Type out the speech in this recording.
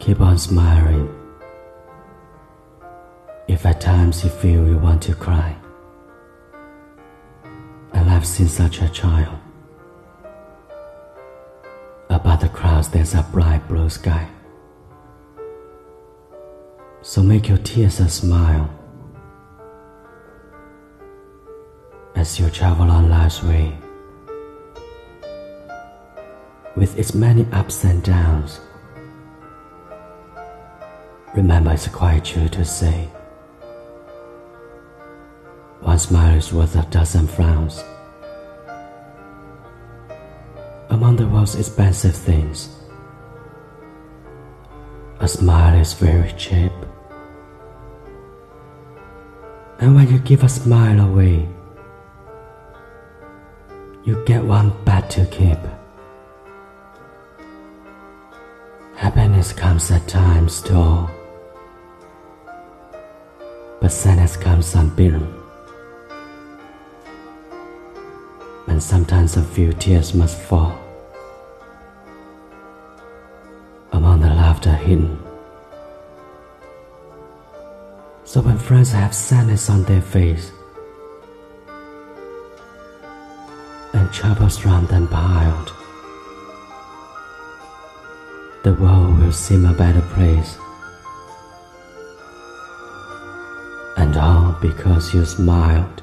Keep on smiling. If at times you feel you want to cry, and I've seen such a child. Above the clouds there's a bright blue sky. So make your tears a smile as you travel on life's way, with its many ups and downs. Remember, it's quite true to say, one smile is worth a dozen frowns. Among the world's expensive things, a smile is very cheap. And when you give a smile away, you get one back to keep. Happiness comes at times to all, but sadness comes unbidden. And sometimes a few tears must fall among the laughter hidden. So when friends have sadness on their face, and troubles round them piled, the world will seem a better place. And all because you smiled.